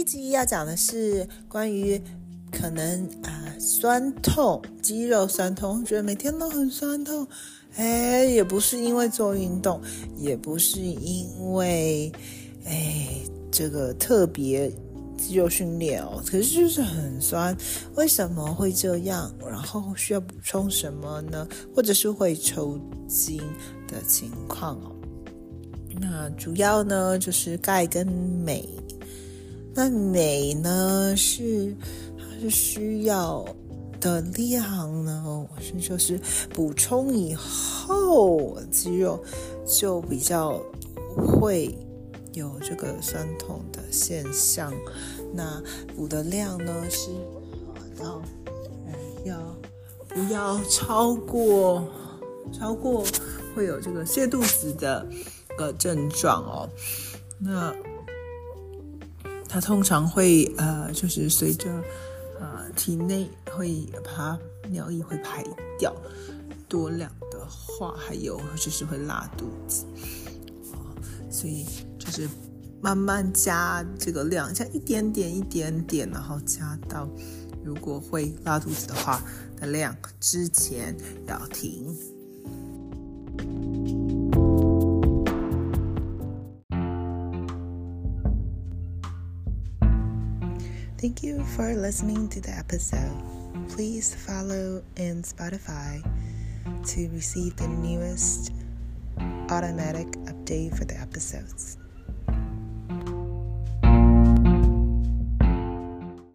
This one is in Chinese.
集要讲的是关于可能酸痛，肌肉酸痛，觉得每天都很酸痛，也不是因为做运动，也不是因为这个特别肌肉训练可是就是很酸，为什么会这样？然后需要补充什么呢？或者是会抽筋的情况那主要呢就是钙跟镁。那镁呢它是需要的量呢，就是补充以后肌肉就比较会有这个酸痛的现象。那补的量呢是不要超过会有这个泻肚子的症状那它通常会就是随着体内会把尿液会排掉，多量的话还有就是会拉肚子所以就是慢慢加这个量，加一点点，然后加到如果会拉肚子的话的量之前要停。Thank you for listening to the episode. Please follow in Spotify to receive the newest automatic update for the episodes.